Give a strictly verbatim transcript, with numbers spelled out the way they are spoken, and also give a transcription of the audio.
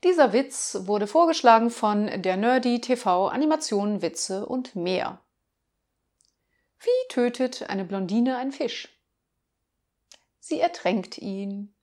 Dieser Witz wurde vorgeschlagen von der Nerdy T V Animationen, Witze und mehr. Wie tötet eine Blondine einen Fisch? Sie ertränkt ihn.